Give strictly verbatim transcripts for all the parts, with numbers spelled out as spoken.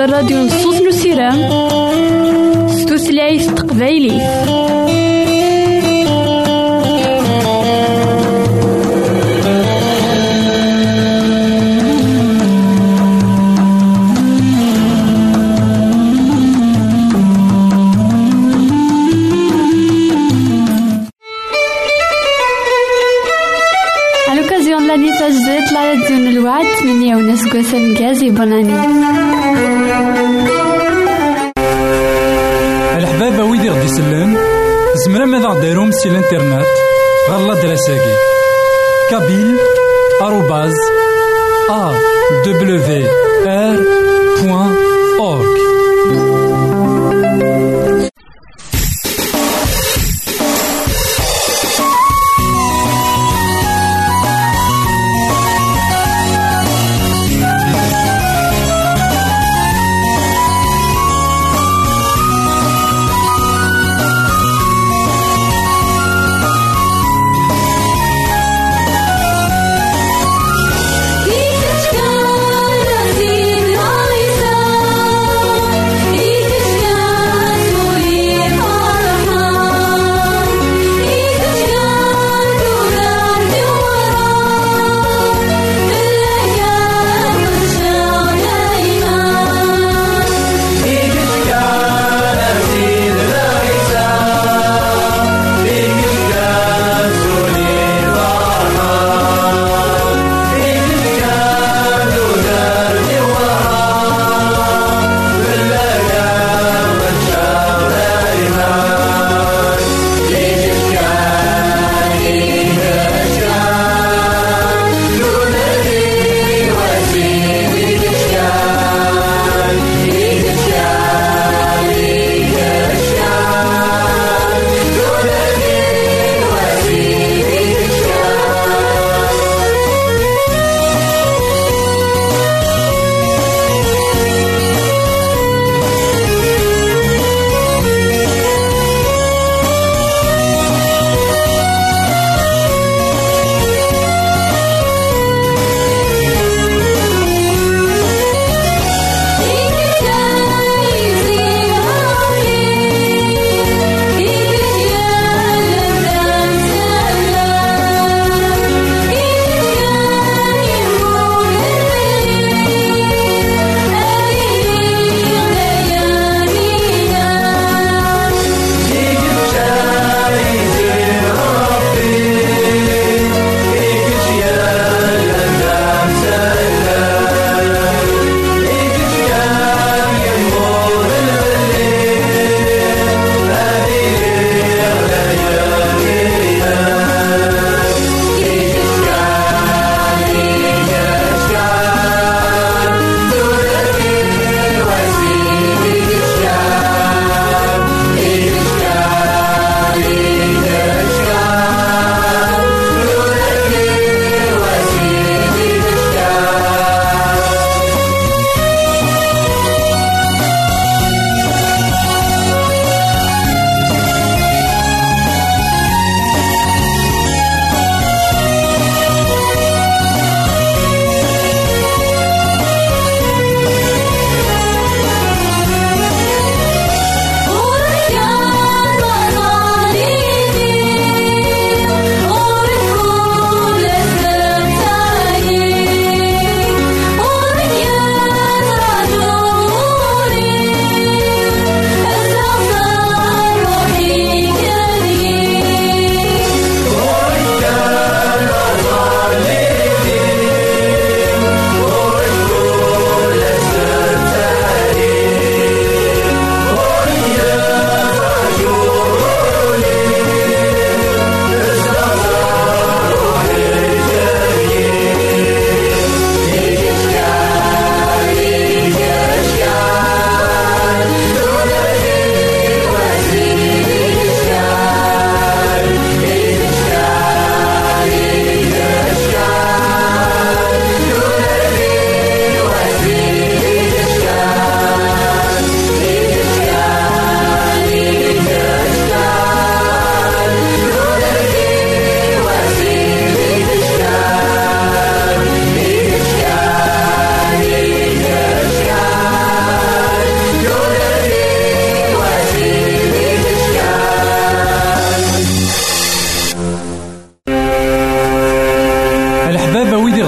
الراديو نصوص نسيرام ستوثلايف تقبايلي. تجديد لا راديو الوعد ثمانية ونص قوسم جازي بناني. الحبابة ويدي غدي يسلم زمرا ماذا غديرهم سي الانترنت غالا دراساكي كابيل آروباز أ دبليو آر بوان أورك. Thank you.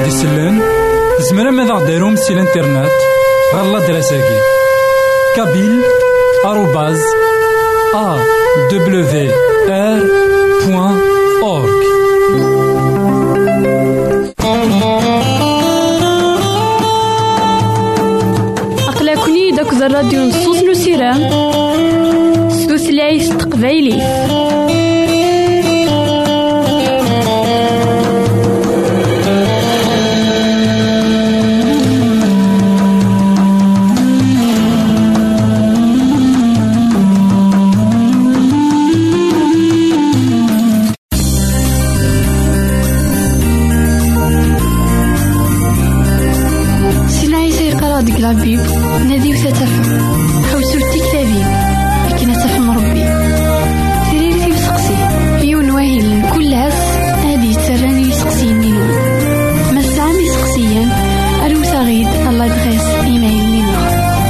ويدير دي سلان زمرا ماذا غديرهم سي الانترنت غالا دراساكي كابيل آروباز أ دبليو آر بوان أورك. أقلكني داك الراديو نصوص نسيرام ستوثلايف تقبايلي. لابيب نادي وتتفهم حوسو التكتابين لكن تفهم ربي سرير في سقسي يون واهل كل هاس هادي تسراني يسقسيين نينو مسامي سقسيا أروس غيد الله دغيس إيمايل لينا.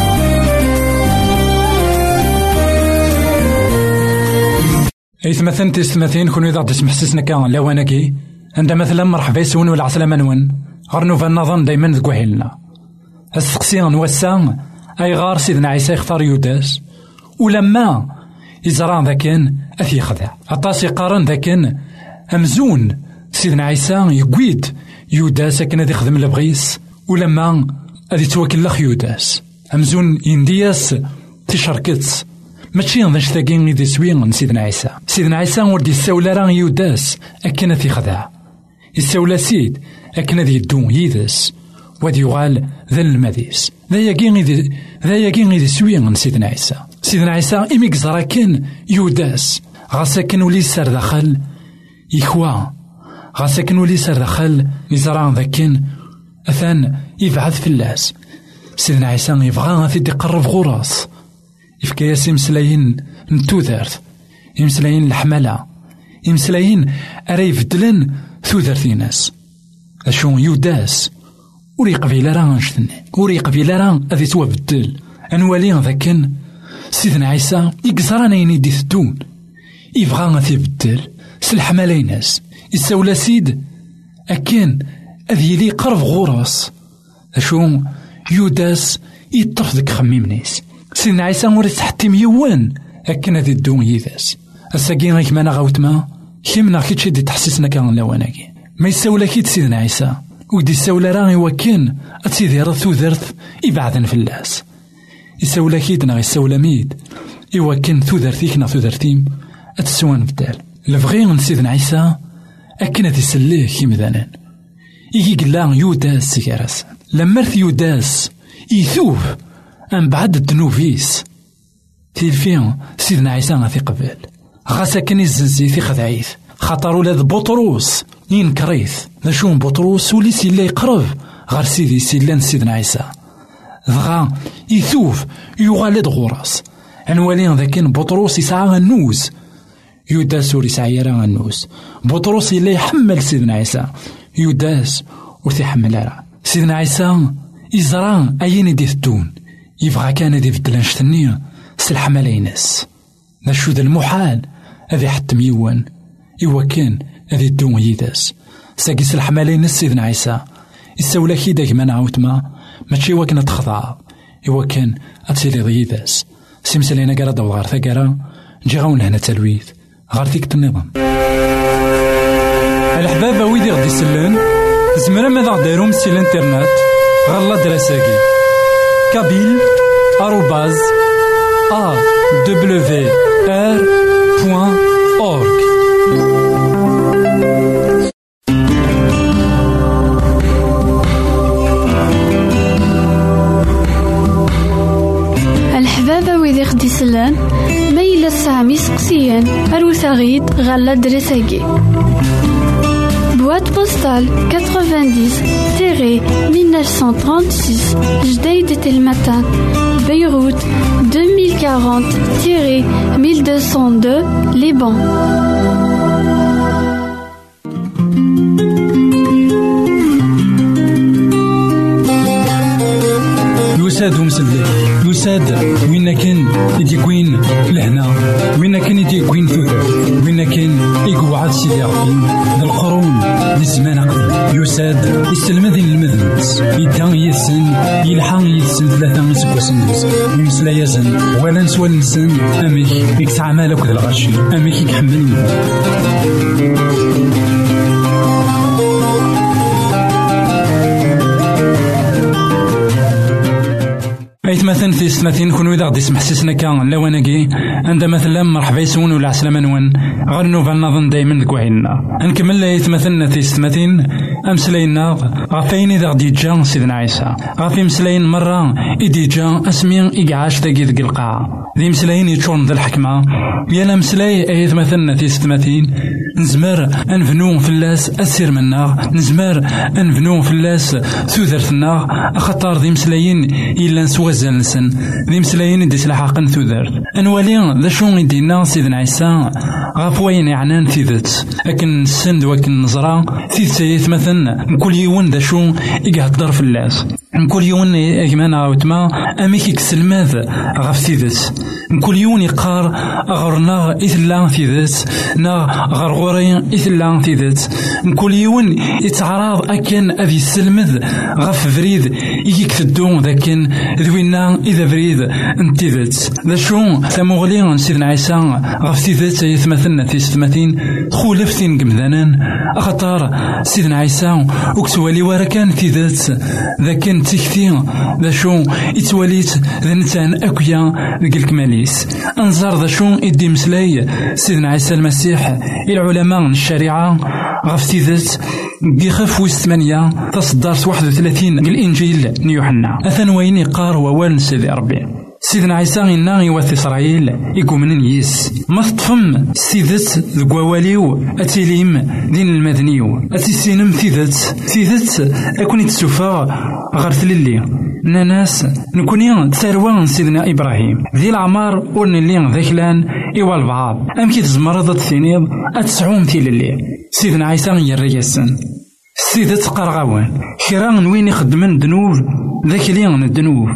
أي ثمثن تستمثين كونو إذا تسمح سسنا كان لوانكي عندما مثلا مرحبا يسون ولا عسلامة نون غرنو فالنظن دايما ذكوهلنا السقسيان نوسان أي غار سيدنا عيسى يختار يوداس ولما يزران ذاكن أثي خذع أطاس يقارن ذاكن أمزون سيدنا عيسى يقويد يوداس أكن هذي خدم البغيس ولما هذي توكل لخ يوداس أمزون يندياس تشاركت ماشي نضيش ثاقين يدي سوين سيدنا عيسى سيدنا عيسى ورد يساولا راه يوداس أكن أثي خذع يساولا سيد أكن هذي يدون يدس وادي يغال ذا المديس ذا يقين ذا ذا يقين ذي سوين سيدنا عيسى سيدنا عيسى إميك زراكن يوداس غاسكن ولي سر دخل يخوا غاسكن ولي سر دخل يزران ذاكن أثان يبعث في اللاس سيدنا عيسى يبغى في يقرب غراس يفكا ياسي مسلاين نتوذرت يمسلاين الحملة يمسلاين أريف دلن ثوذرتي ناس أشون يوداس وري قبيلة راه نشتني وري قبيلة راه أذي توابدل أنوالي ذاكن سيدنا عيسى يقزرانا ينيدي ثدون يبغى غاثي بدل سلح ماليناس يساولا سيد أكين أذي لي قرب غراس أشو يوداس يطرف ذك خميمنيس سيدنا عيسى وري تحتي ميوان أكين أذي الدون يداس الساقين غيك مانا غاوتما كيمنا كيتشي دي تحسسنا كان لواناكي ما يساولا كيت سيدنا عيسى ودي الساولة راغي وكين أتسيدي رثو ذرث يبعثن في اللاس الساولة كيدنا غي الساولة ميد إوكين ثو ذرثيكنا ثو ذرثيم أتسوان بدال لفغيغن سيدنا عيسى أكنا تسليه كيمذانان إيكي قلان يوداس سيكارس لمرث يوداس يثوف أن بعد الدنوفيس تيلفين سيدنا عيسى غاثي قبل غاسا كان يزنزي في خذعيث خاطر ولاد بطروس ينكريث نشوم بطروس ولي سيلا يقرب غير سيدي سيلان سيدنا عيسى ضغا يثوف يغالد غراس عنوالين ذاكين بطروس يسعى النوز يوداس ور يسعى يرى النوز بطروس يلا يحمل سيدنا عيسى يوداس ورثي حمل راه سيدنا عيسى يزران أين يدي الدون يبغى كان يدي بدل نشتني سلح ملاينس نشو ذا المحال هذي حتى ميوان إوا كان هذي الدون يداس ساقي سلح ملاينس سيدنا عيسى يساولا كيدا كما نعاوتما ماشي وكنا تخضع إوا كان أتسيلي ضيداس سيمسلينا قرا دو غار ثقرا نجي غاون هنا تلويث غار ثيك النظام الحبابة ويدي غدي سلان زمرا ماذا غديرهم سي الانترنت غالا دراساكي كابيل آروباز أ دبليو آر بوان أورك. الحبابة ويدي غدي سلان ميلا سامي سقسيان أروساغيد غالا دراساكي boîte postale quatre-vingt-dix mille neuf cent trente-six Jdeïd El Matin Beyrouth deux mille quarante mille deux cent deux Liban. يساد مسلي يساد وين كان يديكوين لهنا وين كان يديكوين ثوثر وين كان يقعد سيدي ربي القرون للزمان قبل يساد يستلمذ المذنبس يدان يسن يلحق يسن ثلاثة سكوسن يمسلا يزن ولا نسوى النسن أميك يكسع مالك ذا الغشي أميك يحملني أيت مثلا في ستماثين كونو إذا غدي يسمح سيسنا كان لواناكي عند مثلا مرحبا يسون ولا عسلامة نوان غير نوفا نظن دايما دكوهينا نكمل أيت مثلا في ستماثين أمسلاينا غافين إذا غدي يجا سيدنا عيسى غافي مسلاين مرة إدي جا أسمي إقعاش داكي ذك القاعة ذي مسلاين يتشون ذا الحكمة يالا مسلاي أيت مثلا في ستماثين نزمر أنفنو فلاس أسير منا نزمر أنفنو فلاس ثوذرتنا أخطار ذي مسلاين إلا نسوى زلسن ذي مسلاين دي سلاحقن ثوذر أنوالي ذا شون يدينا سيدنا عيسى غافوين يعنان ثيذت أكن السند وكن نزرا ثيذت مثلا كل يوم ذا شون يقهدر في اللاس كل يوم يجمعنا عاوتما أميك يكسلماذ غاف ثيذت كل يوم يقار أغرنا إثلا ثيذت نا غرغورين إثلا ثيذت كل يوم يتعرض أكن أذي السلمذ غاف فريد يجيك تدون ذاكن ذوينا إذا فريد انتذت ذا شو ثمغلي سيدنا عيسى غاف ثيذت يثمثلنا في ستماثين خولفتين قمذانان أخطار سيدنا عيسى وكسوالي وركان ثيذت ذاكن تكثير ذا شو يتوليت ذا نتان أكويا ذاك الكماليس أنظر ذا شو إدي مسلاي سيدنا عيسى المسيح العلماء الشريعة غاف ثيذت بخف وثمانية تصدرت واحد وثلاثين الإنجيل نيوحنا أثن وين يقار ووال سيدي ربي سيدنا عيسى إنا يوث إسرائيل يقوم من يس ما تطفم سيدت ذقواليو أتيليم دين المدنيو أتيسينم ثيدت ثيدت أكون يتسوفا غرث للي ناس نكوني تساروان سيدنا إبراهيم ذي العمار ورن اللي ذاكلان إيوا البعض أم كي تزمرض الثنيض أتسعون ثي للي سيدنا عيسى يريسن سيدت قرغوان كران وين يخدمن دنوب ذاك ليان الدنوب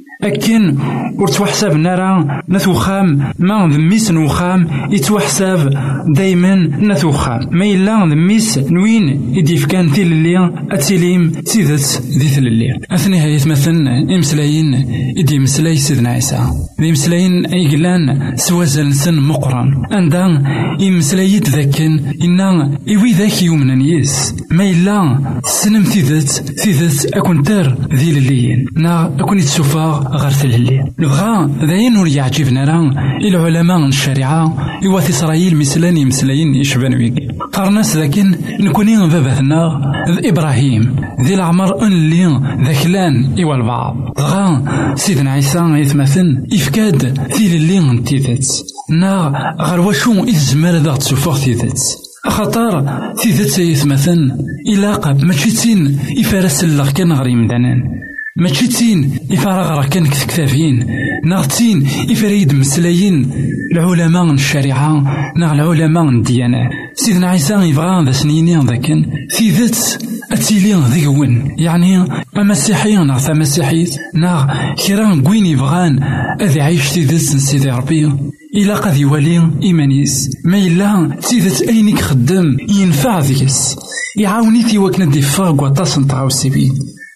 أكن ورتوحساب نرى نثوخام ما ذميس نوخام يتوحساب دايما نثوخام ما إلا ذميس نوين يديف كان ثيل اللي أتسليم سيدت ذي ثل اللي أثني هاي مثلا إمسلاين إدي مسلاي سيدنا عيسى ذي مسلاين إيقلان سوازل سن مقرن عندها إمسلايت ذاكن إنا إوي ذاك يومنا نيس ما إلا سنم ثيدت ثيدت أكون تر ذي الليين نا أكون يتسوفا غرث الليل نبغى ذاين ور يعجبنا راه العلماء الشريعة يوث إسرائيل مسلاني مسلاين يشبان ويكي قرناس لكن نكوني بابثنا إبراهيم ذي العمر أن اللي ذاكلان إيوا البعض غا سيدنا عيسى يتمثل إفكاد ثيل اللي انتيذت نا غير واشو إزمال ذا تسوفوغ تيذت أخطار تيذت يتمثل إلاقة ماشيتين إفارس اللغ كان غري مدانان ماشيتين إفارغ راه كان كتكتافين ناغتين إفريد مسلايين العلماء الشريعة نا العلماء الديانة سيدنا عيسى يبغى ذا سنينين ذاكن في ذات أتيلين ذيون يعني المسيحيين نا مسيحيت نا كيران قوين يبغان أذي عيش في ذات سيدي ربي إلا قد يولي إيمانيس ما إلا تيذت أينك خدم ينفع ذيس يعاوني في وكنا ديفاق وطاسن طاو السبيل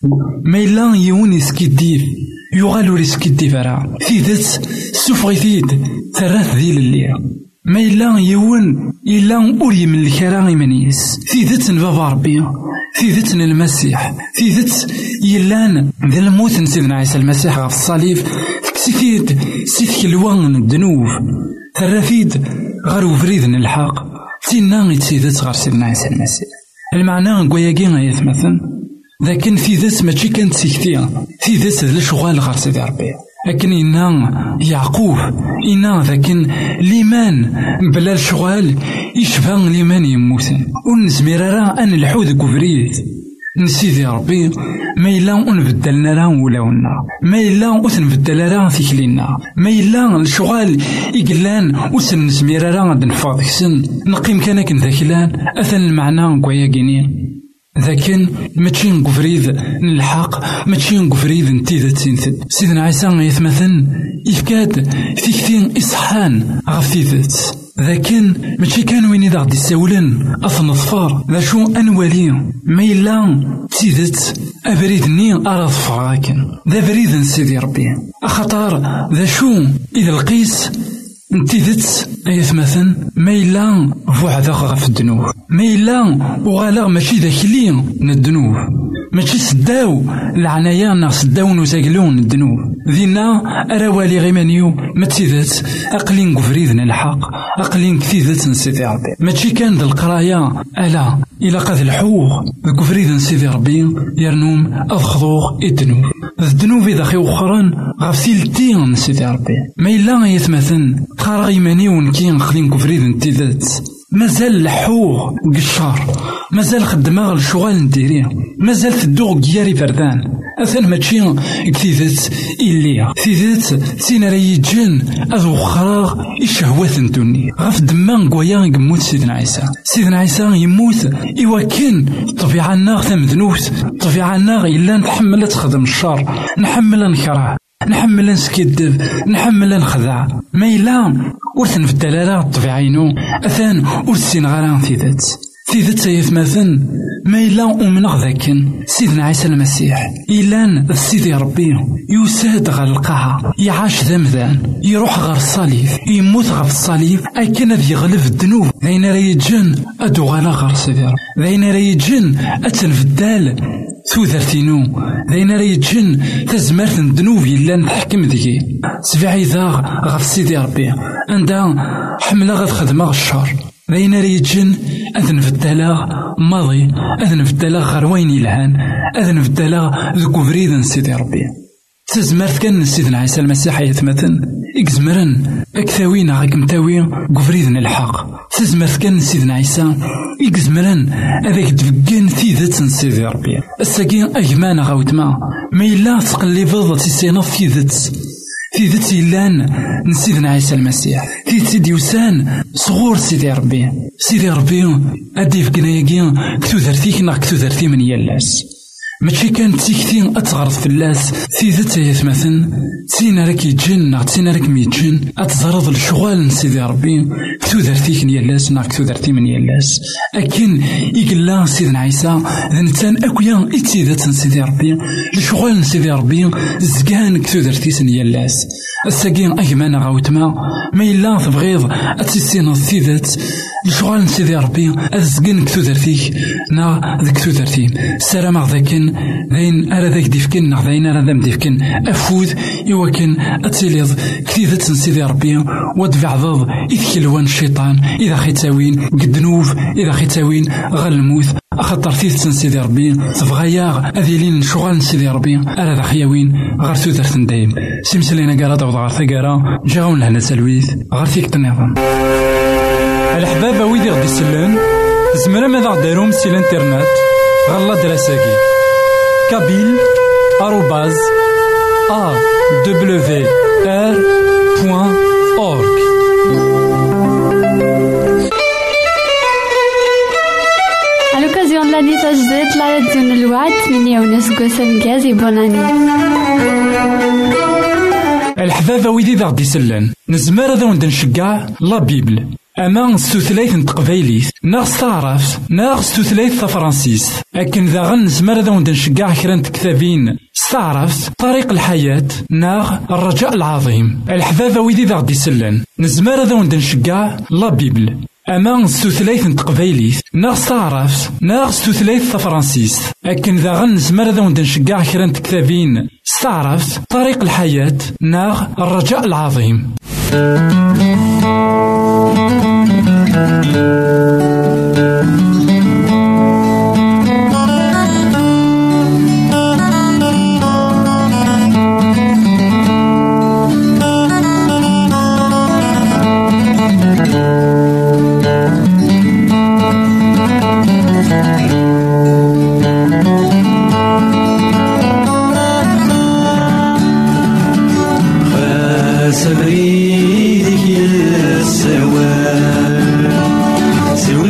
ما إلا يون يسكيديف يغالو يسكيديف راه في ذات سوفغيثيد ثلاث ذيل اللي ما إلا يون إلا أوري من الكرام إيمانيس في ذات بابا ربي في ذات المسيح في ذات يلان ذا الموت سيدنا عيسى المسيح في الصليب سيفيد سيفك الوان الذنوب ثرافيد غير فريد الحق تينا يتسيدت غير سيدنا عيسى المسيح المعنى كوياكي غيثمثل لكن في ذات ماشي كانت سيكتيا في ذات ذا الشغال غير سيدي ربي لكن إنا يعقوب إنا لكن ليمان بلا الشغال يشفى ليمان يموتن ونزمير راه أن الحوذ كفريد نسيدي ربي ما إلا نبدلنا راه ولاونا ما إلا نبدل راه فيكلينا ما إلا الشغال إقلان وسن نزمير راه غاد نفاض سن نقيم كان كن ذاكلان أثن المعنى كويا كيني لكن ماشي نقفريد الحق، ماشي نقفريد نتيذة تنثد. سيدنا عيسى يتمثل يفكاد تيكتين إصحان غفيذت، لكن ماشي كان وين إذا غدي يساولن أثن ظفار ذا شو أنوالي ما إلا تيذت أبريدني أرى ظفر لكن ذا بريد سيدي ربي أخطار ذا شو إذا القيس نتيذت أيثمثن ما إلا فوعداغ غف الدنوب، ما إلا وغالاغ ماشي ذاك اللي من الدنوب، ماشي سداو العنايا ناغ سداو نساقلون الدنوب ذينا أراوالي غيمانيو ما تيذت أقلين قفريذنا الحق، أقلين كثيذت نسيدي ربي ماشي كان ذا القرايا ألا إلا قاد الحوغ قفريذ نسيدي ربي يرنوم أضخضوغ الدنوب الدنوب إذا خي وخران غف ثيلتين نسيدي ربي ما إلا يتمثل قرا غيمانيو ونكي نخلين قفريذ نتيذت مازال الحوغ قشار، مازال خدمة الشغال نديريه، مازال تدوغ جياري فردان أثن ماشي كثيذت إليا كثيذت سين راي جن أذو خراغ الشهوات ندوني غف دمان قويا يموت سيدنا عيسى. سيدنا عيسى يموت إوا كان طبيعة الناغ ثمذنوت، طبيعة الناغ إلا نتحمل تخدم الشر، نحمل نكره، نحمل نسكدب، نحمل نخدع، ما إلا ورثن في الدلالة الطبيعينو أثان ورثين غران ثيذت ثيذت سيثمثن ما إلا أمنغ ذاكن سيدنا عيسى المسيح إلان سيدي ربي يساد غير القاعة يعاش ذمذان يروح غير الصليب يموت غير الصليب أكن ذي يغلب الذنوب ذين ريجن أدو غالا غير سيدي ربي ذين ريجن أتنفدال ثوثرتينو ذين ريجن تزمرت الذنوب إلا نحكم ذي سبعي ذا غير سيدي ربي عندها حملة غير خدمة الشر ذين ريجن أذن في الدلاغ ماضي أذن في الدلاغ غروين يلهان أذن في الدلاغ ذكو فريدا سيدي ربي تزمرت كان سيدنا عيسى المسيح يتمثل إكزمرن أكثاوين غاكم تاوي قفريدنا الحق تزمرت كان سيدنا عيسى إكزمرن أذاك تفقين ثيذت سيدي ربي الساقين أجمان غاوتما ما إلا تقلبض تسينا ثيذت ثيذت سيلان نسيدنا عيسى المسيح ثيذت سيدي وسان صغور سيدي ربي سيدي ربي أديف قنايقين كتو ذرثيك نا كتو ذرثي من يلاس ماشي كانت تيكتين أتغرض في اللاس ثيذت يثمثن تسينا راك يجن تسينا راك ميجن أتزرض الشغال نسيدي ربي كتو ذرثيك نيلاس نا كتو ذرثي من يلاس أكن يقلا سيدنا عيسى ذنتان أكويا إتيذت نسيدي ربي الشغال نسيدي ربي زكان كتو ذرثيس نيلاس الساقين أجمان غاوتما ما إلا تبغيض أتسينا الثيذت الشغال نسيدي ربي أزقن كتو ذرثيك نا ذك كتو ذرثين السلام ذاكن ذين أرى ذاك ديفكن نا ذين أرى ذم ديفكن أفوذ يوكن أتسيليض كثيذت نسيدي ربي ودفع ضض إذ كلوان الشيطان إذا خيتاوين قدنوف إذا خيتاوين غلموث أخطر ثيث نسيدي ربي تبغياغ أذيلين شغال نسيدي ربي أرى ذا خياوين غير ثوثرت ندايم سيمسلينا قارا دعوض غير ثقارا جاون لهنا سلويث غير ثيك تنظم الأحباب ويدي غدي سلان زمرا ماذا غداروم سي الانترنت غالا دراساكي كابيل آروباز أ دبليو آر بوان أورك. À l'occasion de l'année تجديد la radio الوعد ثمانية ونص قسم جازي بوناني. الحبابة ويدي ذا غدي سلان نزمر ذا وند نشجع لا بيبل أما ستوثلايث نتقبايليث ناغ ستعرف ناغ ستوثلايث فرنسيس أكن ذا غن نزمر ذا وند نشجع كرانت كتابين ستعرف طريق الحياة ناغ الرجاء العظيم. الحبابة ويدي ذا غدي سلان نزمر ذا وند نشجع لا بيبل أما ستوثلايث نتقبايليث ناغ ستعرف ناغ ستوثلايث فرنسيس أكن ذا غن نزمر ذا وند نشجع كرانت كتابين ستعرف طريق الحياة ناغ الرجاء العظيم. سبريدك السوار سوى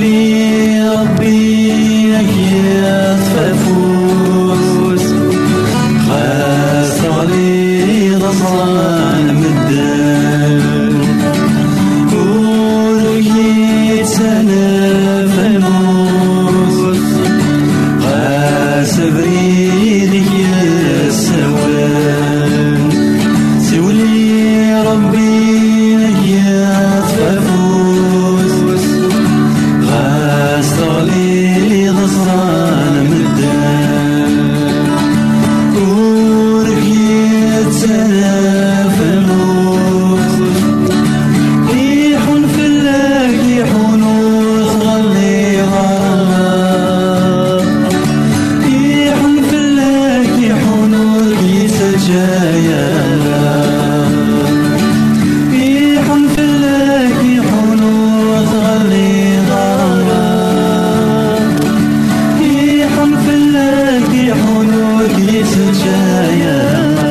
بريدك يا سوان سولي ربي يا تفوز غاس تغلي ضصران مدان كورك يتسلف الموت ريح في اللاك يحون وتغلي غرام ريح في اللاك يحون ورقيت الجاية ريح في اللاك يحون وتغلي غرام ريح في اللاك يحون ورقيت الجاية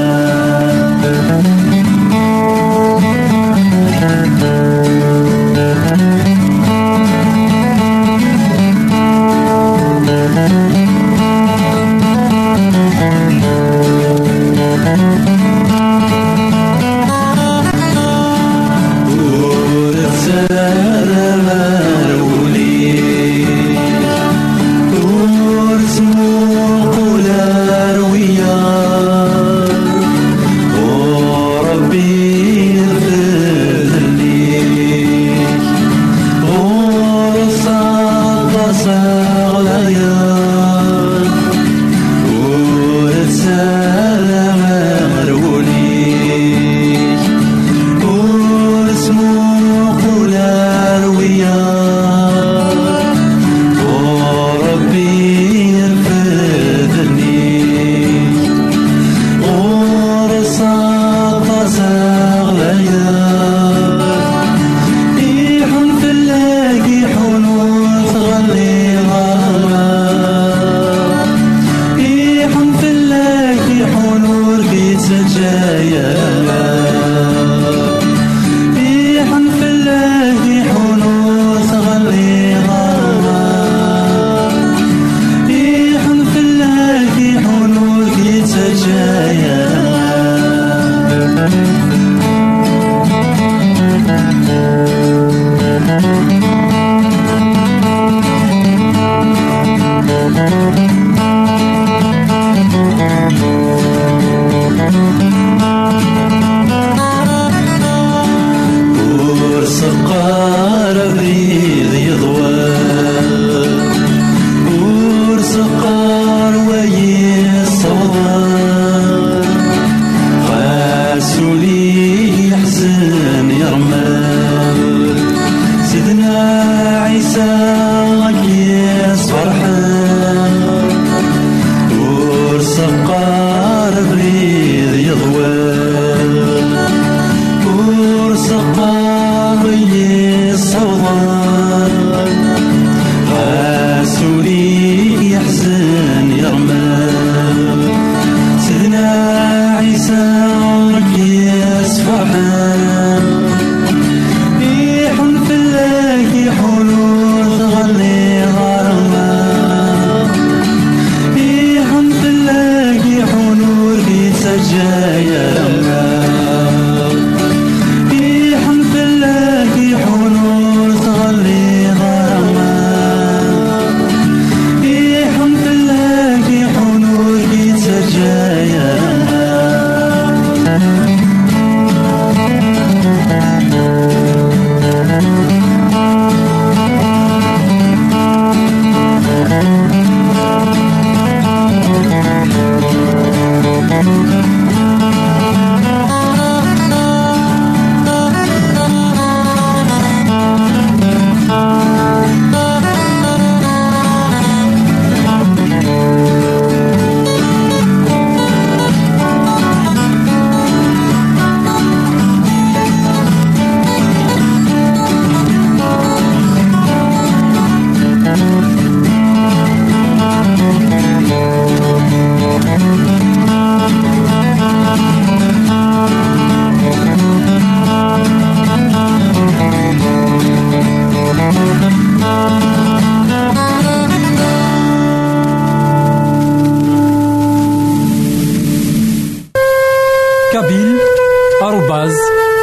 kabyle arobase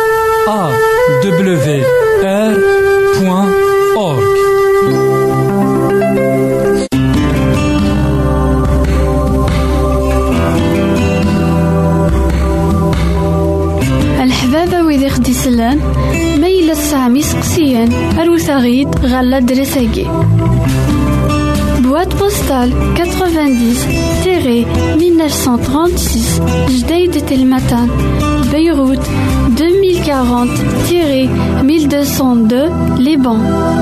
a w r point org. يسلان ميل السامي سقسيان أروثاغيد غالا دريساكي. Boîte postale quatre-vingt-dix mille neuf cent trente-six Jdeïd Telmatan, Beyrouth deux mille quarante mille deux cent deux Liban.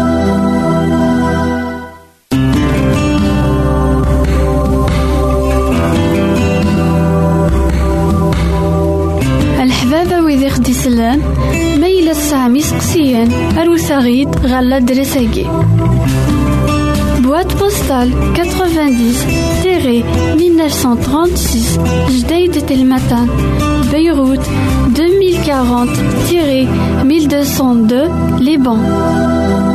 الحبابة ويدي خدي سلان ميل السامي سقسيان أروثاغيد غالا دريساكي. Boîte postale quatre-vingt-dix mille neuf cent trente-six Jdeïd Telmatan, Beyrouth deux mille quarante mille deux cent deux Liban.